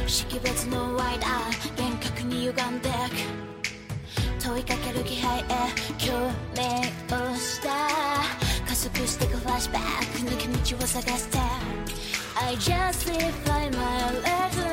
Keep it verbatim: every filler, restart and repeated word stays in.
識別のワイダー厳格に歪んでく問いかける気配へ共鳴をした加速してくフラッシュバック抜け道を探して I just live by my life